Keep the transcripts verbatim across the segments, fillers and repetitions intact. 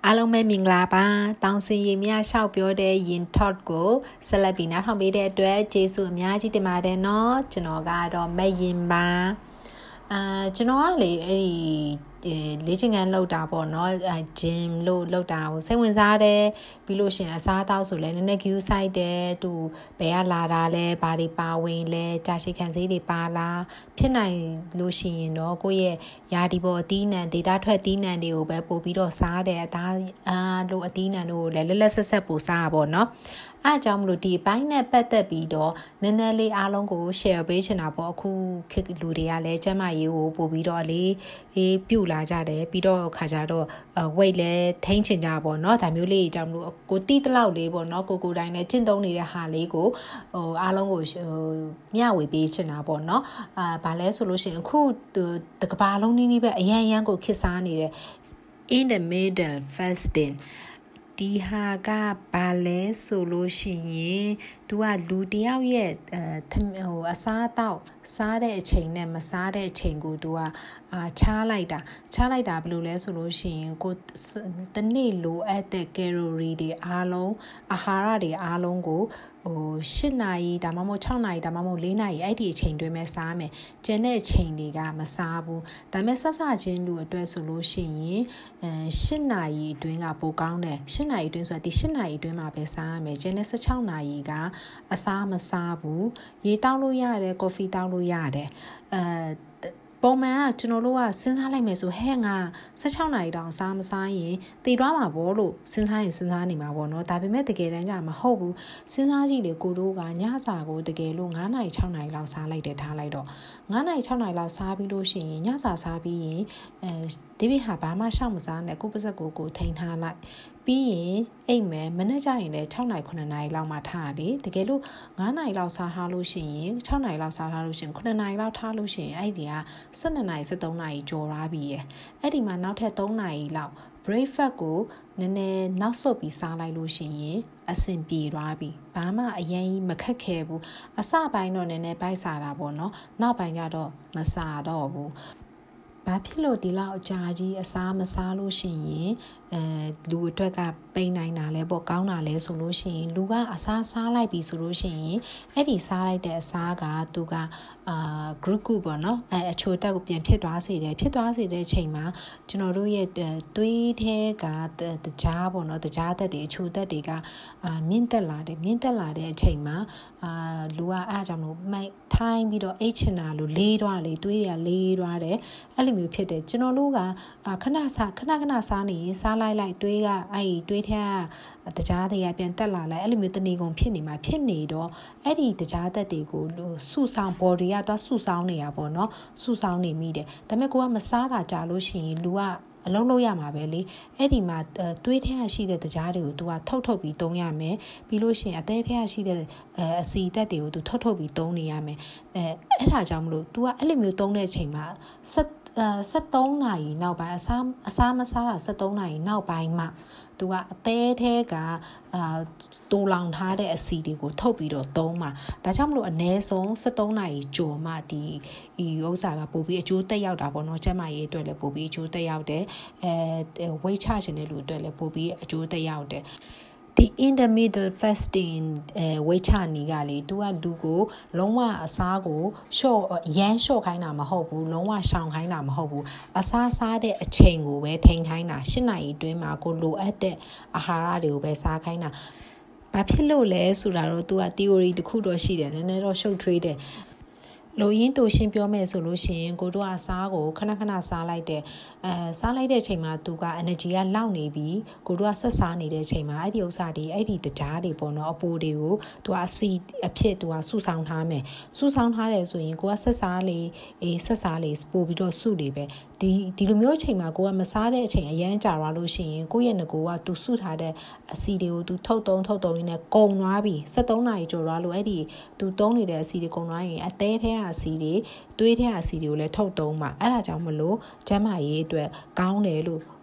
အားလုံးပဲမင်္ဂလာပါတောင်စင်ရင်မြရှောက်ပြောတဲ့ယင် talk ကိုဆက်လက်ပြီးနားထောင်ပေးတဲ့အတွက်ကျေးဇူးအများကြီးတင်ပါတယ်နော်ကျွန်တော်ကတော့မယင်ပါအာကျွန်တော်ကလေအဲ့ဒီလေ့ကျင့်ခန်းလုပ်တာပေါ့နော်အဲ gym လို့လုပ်တာကိုစိတ်ဝင်စားတယ်ပြီးလို့ရှိရင်အစားအသောက်ဆိုလဲနည်းနည်း queue ဆိုင်တယ်သူဘယ်ကလာတာလဲဘာတွေပါဝင်လဲကြာရှည်ခံစေးတွေပါလားဖြစ်နိုင်လို့ရှိရင်တော့ကိုယ့်ရဲ့ယာဒီပေါ်အသီးနှံ data ထွက်သီးနှံတွေကိုပဲပို့ပြီးတော့စားတယ်အသားအားလို့အသီးနှံတို့ကိုလည်းလက်လက်ဆက်ဆက်ပို့စားပါပေါ့နော်အားကြောင့်မလို့ဒီဘိုင်းနဲ့ပတ်သက်ပြီးတော့နည်းနည်းလေးအားလုံးကို share ပေးချင်တာပေါ့အခုခေတ်လူတွေကလည်းကျန်းမာရေးကိုပို့ပြီးတော့လေးအေးပြုတ်လာကြတယ်ပြီးတော့ခါကြတော့ weight လည်းထိန်းချင်ကြပါပေါ့နော်ဒါမျိုးလေးကြောင့်မလို့ကိုတီးတလောက်လေးပေါ့နော်ကိုကိုတိုင်းလည်းကျင့်သုံးနေတဲ့ဟာလေးကိုဟိုအားလုံးကိုမျှဝေပေးချင်တာပေါ့နော်အာဘာလဲဆိုလို့ရှိရင်အခုတကဘာလုံးနီးနီးပဲအရန်အရန်ကိုခစ်စားနေတယ် in the middle fastingဒီဟာကဘာလဲဆိုလို့ရှိရင်သူကလူတယောက်ရဲ့အဲဟိုအစားအသောက်စားတဲ့အချိန်နဲ့မစားတဲ့အချိန်ကိုသူကအာချားလိုက်တာချားလိုက်တာဘယ်လိုလဲဆိုလို့ရှိရင်ကိုတနေ့လိုအပ်တဲ့ calorie တွေအားလုံးအာဟာရတွေအားလုံးကိုဟို၈နာရီဒါမှမဟုတ်၆နာရီဒါမှမဟုတ်၄နာရီအဲ့ဒီအချိန်တွင်းမဲ့စားမယ်ကျန်တဲ့အချိန်တွေကမစားဘူးဒါပေမဲ့ဆက်စချင်းလူအတွက်ဆိုလို့ရှိရင်အဲ၈နာရီအတွင်းကပိုကောင်းတယ်၈နာရီအတွင်းဆိုတာဒီ၈နာရီအတွင်းမှာပဲစားရမယ်ကျန်တဲ့၁၆နာရီကအစားမစားဘူးရေတောက်လို့ရတယ်ကော်ဖီတောက်လို့ရတယ်အဲပုံမှန်ကကျွန်တော်တို့ကစဉ်းစားလိုက်မယ်ဆိုဟဲ့ငါ၁၆နာရီတောင်စားမစားရင်တည်သွားမှာပေါ့လို့စဉ်းစားရင်စဉ်းစားနေမှာပေါ့နော်ဒါပေမဲ့တကယ်တမ်းကျမဟုတ်ဘူးစဉ်းစားကြည့်လေကိုတို့ကညစာကိုတကယ်လို့၅နာရီ၆နာရီလောက်စားလိုက်တယ်ထားလိုက်တော့၅နာရီ၆နာရီလောက်စားပြီးလို့ရှိရင်ညစာစားပြီးရင်အဲဒီဘိဟာဘာမှရှောက်မစားနဲ့ကိုပစက်ကိုကိုထိန်ထားလိုက်ပြီးရင်အိမ်မယ်မနေ့ကျရင်လည်း၆နာရီ9နာရီလောက်မှထားရတယ်တကယ်လို့၅နာရီလောက်စားထားလို့ရှိရင်၆နာရီလောက်စားထားလို့ရှိရင်9နာရီလောက်ထားလို့ရှိရင်အဲ့ဒီက၁၂နာရီ၁၃နာရီကျော်သွားပြီရယ်အဲ့ဒီမှာနောက်ထပ်၃နာရီလောက် breakfast ကိုနည်းနည်းနောက်ဆုတ်ပြီးစားလိုက်လို့ရှိရင်အဆင်ပြေသွားပြီဘာမှအရင်ကြီးမခက်ခဲဘူးအစပိုင်းတော့နည်းနည်းပိုက်စားတာပေါ့နော်နောက်ပိုင်းကျတော့မစားတော့ဘူးဘာဖြစ်လို့ဒီလောက်အကြာကြီးအစားမစားလို့ရှိရင်အဲလူအတွက်ကပိန်နိုင်တာလဲပေါ့ကောင်းတာလဲဆိုလို့ရှိရင်လူကအစားစားလိုက်ပြီဆိုလို့ရှိရင်အဲ့ဒီစားလိုက်တဲ့အစားကသူကအာ group group ပေါ့နော်အဲအချိုတက်ကိုပြန်ဖြစ်သွားစေတယ်ဖြစ်သွားစေတဲ့အချိန်မှာကျွန်တော်တို့ရဲ့သွေးထဲကတကြားပေါ့နော်တကြားသက်တွေအချိုတက်တွေကအာမြင့်တက်လာတယ်မြင့်တက်လာတဲ့အချိန်မှာအာလူကအားကြောင့်လို့မိုက်ထိုင်းပြီးတော့အိတ်ချင်တာလို့လေးသွားလေသွေးတွေကလေးသွားတယ်အဲ့လိုမျိုးဖြစ်တယ်ကျွန်တော်တို့ကခဏစားခဏခဏစားနေရင်စားလိုက်လိုက်တွေးကအဲ့ဒီတွေးထဲကတကြားတွေကပြန်တက်လာလိုက်အဲ့လိုမျိုးတနေကုန်ဖြစ်နေမှာဖြစ်နေတော့အဲ့ဒီတကြားသက်တွေကိုစုဆောင် body ကတော့စုဆောင်နေရပါတော့เนาะစုဆောင်နေမိတယ်ဒါပေမဲ့ကိုကမစားတာကြာလို့ရှိရင်လူကအလုံးလုံးရမှာပဲလေအဲ့ဒီမှာတွေးထဲရရှိတဲ့တကြားတွေကို तू ကထုတ်ထုတ်ပြီးသုံးရမယ်ပြီးလို့ရှိရင်အသေးထဲရရှိတဲ့အစီတက်တွေကို तू ထုတ်ထုတ်ပြီးသုံးနေရမယ်အဲအဲ့ဒါကြောင့်မလို့ तू ကအဲ့လိုမျိုးသုံးတဲ့အချိန်မှာဆက်အဲ73နာရီနောက်ပိုင်းအစားအစားမစားတာ73နာရီနောက်ပိုင်းမှသူကအသေးထဲကအာတူလောင်ထားတဲ့အစီတွေကိုထုတ်ပြီးတော့သုံးမှာဒါကြောင့်မလို့အနည်းဆုံး73နာရီကျော်မှဒီဒီဥစ္စာကပို့ပြီးအကျိုးသက်ရောက်တာပေါ့နော်ကျန်းမာရေးအတွက်လည်းပို့ပြီးအကျိုးသက်ရောက်တယ်အဲ weight ချခြင်းတဲ့လူအတွက်လည်းပို့ပြီးအကျိုးသက်ရောက်တယ်ဒီ in the middle fasting အဲဝိချာနီကလေသူကလူကိုလုံးဝအစားကိုရှော့ရမ်းရှော့ခိုင်းတာမဟုတ်ဘူးလုံးဝရှောင်ခိုင်းတာမဟုတ်ဘူးအစားစားတဲ့အချိန်ကိုပဲထိန်းခိုင်းတာ၈နာရီအတွင်းမှာကိုလိုအပ်တဲ့အာဟာရတွေကိုပဲစားခိုင်းတာဘာဖြစ်လို့လဲဆိုတာတော့သူက theory တစ်ခုတော့ရှိတယ်နည်းနည်းတော့ရှုပ်ထွေးတယ်လိုရင်းတူရှင်းပြောမယ်ဆိုလို့ရှိရင်ကိုတို့အစားကိုခဏခဏစားလိုက်တဲ့အဲစားလိုက်တဲ့အချိန်မှာသူက energy ကလောက်နေပြီကိုတို့ကဆက်စားနေတဲ့အချိန်မှာအဲ့ဒီဥစ္စာတွေအဲ့ဒီတကြားတွေပေါ့နော်အပိုတွေကိုသူကအစီအဖြစ်သူကစုဆောင်ထားမယ်စုဆောင်ထားတယ်ဆိုရင်ကိုကဆက်စားလေအေးဆက်စားလေပို့ပြီးတော့စုလေပဲဒီဒီလိုမျိုးအချိန်မှာကိုကမစားတဲ့အချိန်အရန်ကြာသွားလို့ရှိရင်ကိုယ့်ရဲ့ငကိုကသူစုထားတဲ့အစီတွေကိုသူထုတ်တုံးထုတ်တုံးရင်းနဲ့ကုန်သွားပြီ73နာရီကျော်သွားလို့အဲ့ဒီသူတုံးနေတဲ့အစီတွေကုန်သွားရင်အသေးထဲကအစီတွေသွေးထဲကအစီတွေကိုလည်းထုတ်တုံးမှာအဲ့ဒါကြောင့်မလို့ကျန်းမာရေးအတွက်ကောင်းတယ်လို့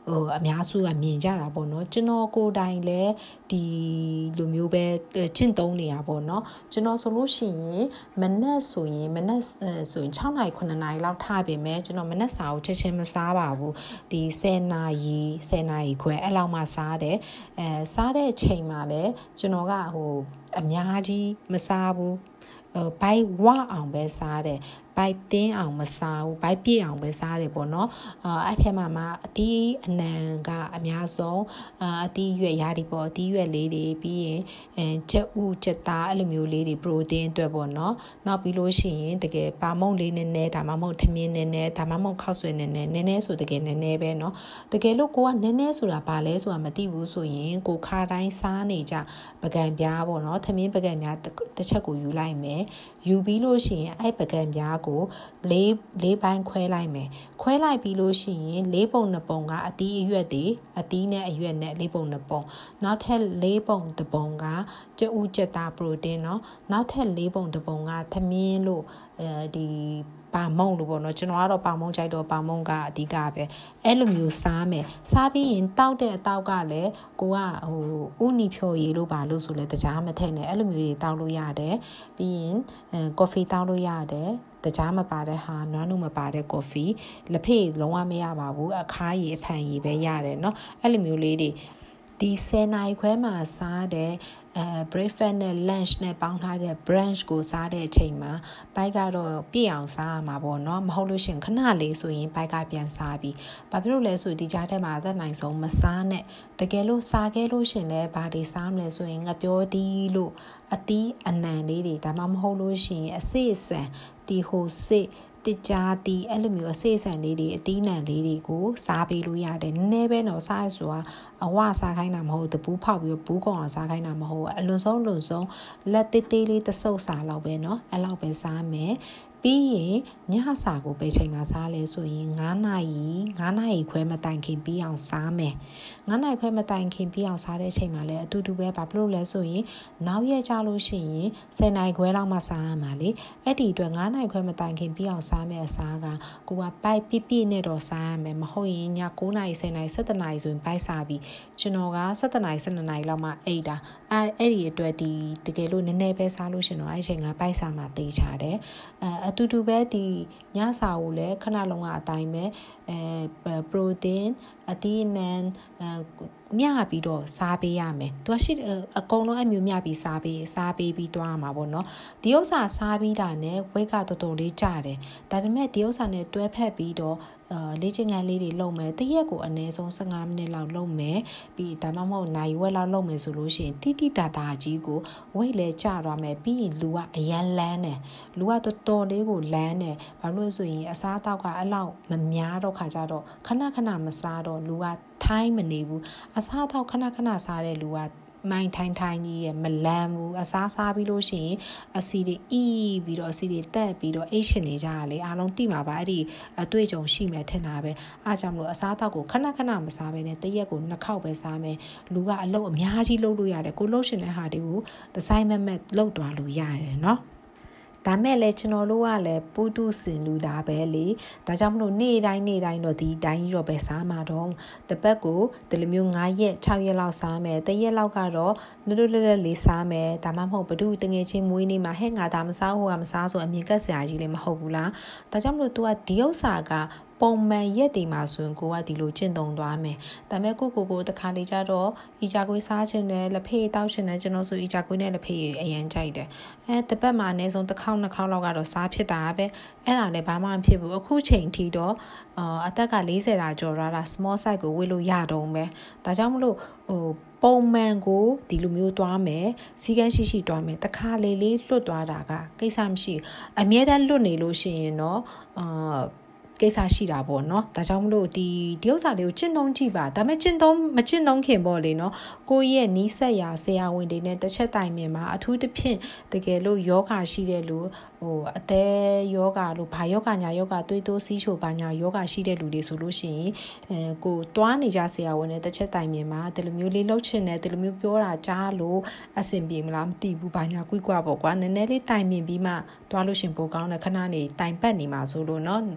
ဟိုအများစုကမြင်ကြတာပေါ့နော်ကျွန်တော်ကိုယ်တိုင်လည်းဒီလိုမျိုးပဲကျင့်သုံးနေရပေါ့နော်ကျွန်တော်ဆိုလို့ရှိရင်မနက်ဆိုရင်မနက်ဆိုရင်6နာရီ9နာရီလောက်ထားပြင်မဲ့ကျွန်တော်မနက်စာကိုချက်ချင်းမစားပါဘူးဒီ10နာရီ10နာရီခွဲအဲ့လောက်မှစားတယ်အဲစားတဲ့အချိန်မှာလည်းကျွန်တော်ကဟိုအများကြီးမစားဘူးဘိုက်ဝအောင်ပဲစားတယ်ဘိုက်တင်းအောင်မစားဘူးဘိုက်ပြည့်အောင်ပဲစားတယ်ပေါ့နော်အဲ့ထဲမှာမှအသီးအနှံကအများဆုံးအသီးရွက်ရာဒီပေါ့အသီးရွက်လေးတွေပြီးရင်အဲချက်ဥချက်သားအဲ့လိုမျိုးလေးတွေပရိုတင်းအတွက်ပေါ့နော်နောက်ပြီးလို့ရှိရင်တကယ်ပါမုန့်လေးနည်းနည်းဒါမှမဟုတ်ထမင်းနည်းနည်းဒါမှမဟုတ်ခောက်ဆွဲနည်းနည်းနည်းနည်းဆိုတကယ်နည်းနည်းပဲနော်တကယ်လို့ကိုကနည်းနည်းဆိုတာဘာလဲဆိုတာမသိဘူးဆိုရင်ကိုခါတိုင်းစားနေကြပကံပြားပေါ့နော်ထမင်းပကံပြားတစ်ချက်ကိုယူလိုက်မယ်ယူပြီးလို့ရှိရင်အဲ့ပကံပြားကိုလေးလေးပိုင်းခွဲလိုက်မယ်ခွဲလိုက်ပြီးလို့ရှိရင်လေးပုံနှစ်ပုံကအသီးအရွက်တွေအသီးနဲ့အရွက်နဲ့လေးပုံနှစ်ပုံနောက်ထပ်လေးပုံတစ်ပုံကကျဥကျက်သားပရိုတင်းเนาะနောက်ထပ်လေးပုံတစ်ပုံကသမင်းလို့အဲဒီပါမုံလို့ပေါ့နော်ကျွန်တော်ကတော့ပါမုံကြိုက်တော့ပါမုံကအဓိကပဲအဲ့လိုမျိုးစားမယ်စားပြီးရင်တောက်တဲ့အတောက်ကလည်းကိုကဟိုဥနီဖြော်ရည်လို့ပါလို့ဆိုလဲတကြားမထည့်နဲ့အဲ့လိုမျိုးတွေတောက်လို့ရတယ်ပြီးရင်အဲကော်ဖီတောက်လို့ရတယ်တကြားမပါတဲ့ဟာနွားနုမပါတဲ့ကော်ဖီလက်ဖေးလုံးဝမရပါဘူးအခါးရည်အဖန်ရည်ပဲရတယ်เนาะအဲ့လိုမျိုးလေးတွေဒီ10နာရီခွဲမှာစားတဲ့အဲ breakfast နဲ့ lunch နဲ့ပေါင်းထားတဲ့ brunch ကိုစားတဲ့အချိန်မှာဘိုက်ကတော့ပြည့်အောင်စားရမှာပေါ့နော်မဟုတ်လို့ရှိရင်ခဏလေးဆိုရင်ဘိုက်ကပြန်စားပြီးဘာဖြစ်လို့လဲဆိုဒီကြားထဲမှာအသက်နိုင်ဆုံးမစားနဲ့တကယ်လို့စားခဲ့လို့ရှိရင်လည်းဘာတွေစားမလဲဆိုရင်ငပြောတီးလို့အသီးအနှံလေးတွေဒါမှမဟုတ်လို့ရှိရင်အစစ်အဆန်တီဟိုစစ်တကြားတီအဲ့လိုမျိုးအစိအဆန်လေးတွေအတီးနှံလေးတွေကိုစားပေးလို့ရတယ်နည်းနည်းပဲတော့စားရဆိုတာအဝစားခိုင်းတာမဟုတ်တပူးဖောက်ပြီးဘူးကောင်အောင်စားခိုင်းတာမဟုတ်အလွန်ဆုံးလွန်ဆုံးလက်တေးသေးလေးတစ်စုပ်စားလောက်ပဲเนาะအဲ့လောက်ပဲစားမယ်ပြီးရင်ညစာကိုပဲချိန်မှာစားလဲဆိုရင်9နာရီ9နာရီခွဲမတိုင်ခင်ပြီးအောင်စားမယ်9နာရီခွဲမတိုင်ခင်ပြီးအောင်စားတဲ့အချိန်မှာလည်းအတူတူပဲဘာဖြစ်လို့လဲဆိုရင်နောက်ရက်ကြလို့ရှိရင်10နာရီခွဲလောက်မှစားရမှာလေအဲ့ဒီအတွက်9နာရီခွဲမတိုင်ခင်ပြီးအောင်စားမယ်အစားကကိုကပိုက်ပြပြနဲ့တော့စားရမယ်မဟုတ်ရင်ည9နာရီ10နာရီ17နာရီဆိုရင်ပိုက်စားပြီးကျွန်တော်က17နာရီ12နာရီလောက်မှအိတ်တာအဲအဲ့ဒီအတွက်ဒီတကယ်လို့နည်းနည်းပဲစားလို့ရှင်တော့အဲ့ချိန်ကပိုက်စားမှတေးချတယ်အဲအတူတူပဲဒီညစာကိုလည်းခဏလုံးကအတိုင်းပဲအဲပရိုတင်းအသီးအနှံမျှပြီးတော့စားပေးရမယ်သူကရှိအကုန်လုံးအမျိုးမျှပြီးစားပေးစားပေးပြီးသွားရမှာပေါ့နော်ဒီဥစ္စာစားပြီးတာနဲ့ဝိတ်ကတော်တော်လေးကျတယ်ဒါပေမဲ့ဒီဥစ္စာနဲ့တွဲဖက်ပြီးတော့အာလေ့ကျင့်ခန်းလေးတွေလုပ်မယ်တရက်ကိုအနည်းဆုံး15မိနစ်လောက်လုပ်မယ်ပြီးဒါမှမဟုတ်နိုင်ဝက်လောက်လုပ်မယ်ဆိုလို့ရှိရင်တိတိတတာကြီးကိုဝိတ်လဲကျသွားမယ်ပြီးရင်လူကအရန်လန်းတယ်လူကတော်တော်လေးကိုလန်းတယ်ဘာလို့လဲဆိုရင်အစားအသောက်ကအဲ့လောက်မများတော့ခါကြတော့ခဏခဏမစားတော့လူကထိုင်းမနေဘူးအစားအသောက်ခဏခဏစားတဲ့လူကမိုင်းထိုင်းထိုင်းကြီးရဲ့မလန်းဘူးအစားစားပြီးလို့ရှိရင်အစီတွေအီးပြီးတော့အစီတွေတက်ပြီးတော့အိတ်ရှင်နေကြရလေအားလုံးတိမှာပါအဲ့ဒီအတွေ့အကြုံရှိမယ်ထင်တာပဲအားကြောင့်မလို့အစားတောက်ကိုခဏခဏမစားဘဲနဲ့တရက်ကိုနှစ်ခေါက်ပဲစားမယ်လူကအလုပ်အများကြီးလုပ်လို့ရတယ်ကိုလုပ်ရှင်တဲ့ဟာတွေကိုဒီဇိုင်းမမက်လုပ်သွားလို့ရတယ်เนาะဒါမဲ့လည်းကျွန်တော်တို့ကလည်းပူတုစင်လူတာပဲလေဒါကြောင့်မလို့နေ့တိုင်းနေ့တိုင်းတော့ဒီတိုင်းကြီးတော့ပဲစားမှာတော့တပတ်ကိုဒီလိုမျိုး9ရက်6ရက်လောက်စားမယ်တရက်လောက်ကတော့လွတ်လွတ်လပ်လပ်လေးစားမယ်ဒါမှမဟုတ်ဘဒုတငယ်ချင်းမွေးနေ့မှာဟဲ့ငါဒါမစားဟိုကမစားဆိုအမြင်ကက်စရာကြီးလည်းမဟုတ်ဘူးလားဒါကြောင့်မလို့ तू ကဒီဥစ္စာကပုံမှန်ရက်တွေမှာဆိုရင်ကိုကဒီလိုကျင့်သုံးသွားမယ်ဒါပေမဲ့ကိုကိုကိုတခါလေကြတော့အီဂျာကွေးစားခြင်းနဲ့လက်ဖေးတောက်ခြင်းနဲ့ကျွန်တော်ဆိုအီဂျာကွေးနဲ့လက်ဖေးအရန်ကြိုက်တယ်အဲတပတ်မှာအနည်းဆုံးတစ်ခေါက်နှစ်ခေါက်လောက်ကတော့စားဖြစ်တာပဲအဲ့ဒါလည်းဘာမှမဖြစ်ဘူးအခုချိန်ထိတော့အာအသက်က40တာကျော်လာတာ small size ကိုဝေလို့ရတော့မယ်ဒါကြောင့်မလို့ဟိုပုံမှန်ကိုဒီလိုမျိုးသွားမယ်စီကန်းရှိရှိသွားမယ်တခါလေလေးလွတ်သွားတာကကိစ္စမရှိအမြဲတမ်းလွတ်နေလို့ရှိရင်တော့အာကိစ္စရှိတာပေါ့နော်ဒါကြောင့်မလို့ဒီဒီဥစ္စာလေးကိုကျင့်သုံးကြည့်ပါဒါပေမဲ့ကျင့်သုံးမကျင့်သုံးခင်ပေါ့လေနော်ကိုယ့်ရဲ့နီးစပ်ရာဆရာဝန်တွေနဲ့တစ်ချက်တိုင်မြင်မှာအထူးသဖြင့်တကယ်လို့ယောဂရှိတဲ့လူဟိုအသေးယောဂလို့ဘာယောဂညာယောဂသွေးတိုးစီးချိုဘာညာယောဂရှိတဲ့လူတွေဆိုလို့ရှိရင်အဲကိုတွားနေကြဆရာဝန်နဲ့တစ်ချက်တိုင်မြင်မှာဒီလိုမျိုးလေးလှုပ်ချင်တယ်ဒီလိုမျိုးပြောတာကြားလို့အဆင်ပြေမလားမသိဘူးဘာညာကွိကွာပေါ့ကွာနည်းနည်းလေးတိုင်မြင်ပြီးမှတွားလို့ရှင်ပိုကောင်းတယ်ခဏနေတိုင်ပတ်နေမှာဆိုလို့နော်ကိုက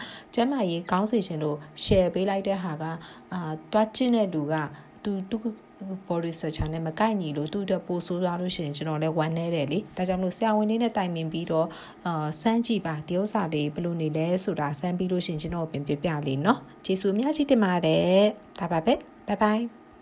ကျမကြီးကောင်းစီရှင်လို့ share ပေးလိုက်တဲ့ဟာကအာတွားကျင့်တဲ့လူကသူသူ body searcher နဲ့မကိုက်ညီလို့သူ့အတွက်ပိုဆိုးသွားလို့ရှိရင်ကျွန်တော်လည်းဝမ်းနေတယ်လေဒါကြောင့်မလို့ဆရာဝန်လေးနဲ့တိုင်ပင်ပြီးတော့အာစမ်းကြည့်ပါဒီဥစ္စာလေးဘယ်လိုနေလဲဆိုတာစမ်းပြီးလို့ရှိရင်ကျွန်တော်ပြင်ပြပြလေးเนาะကျေးဇူးအများကြီးတင်ပါတယ်ဒါပါပဲ bye bye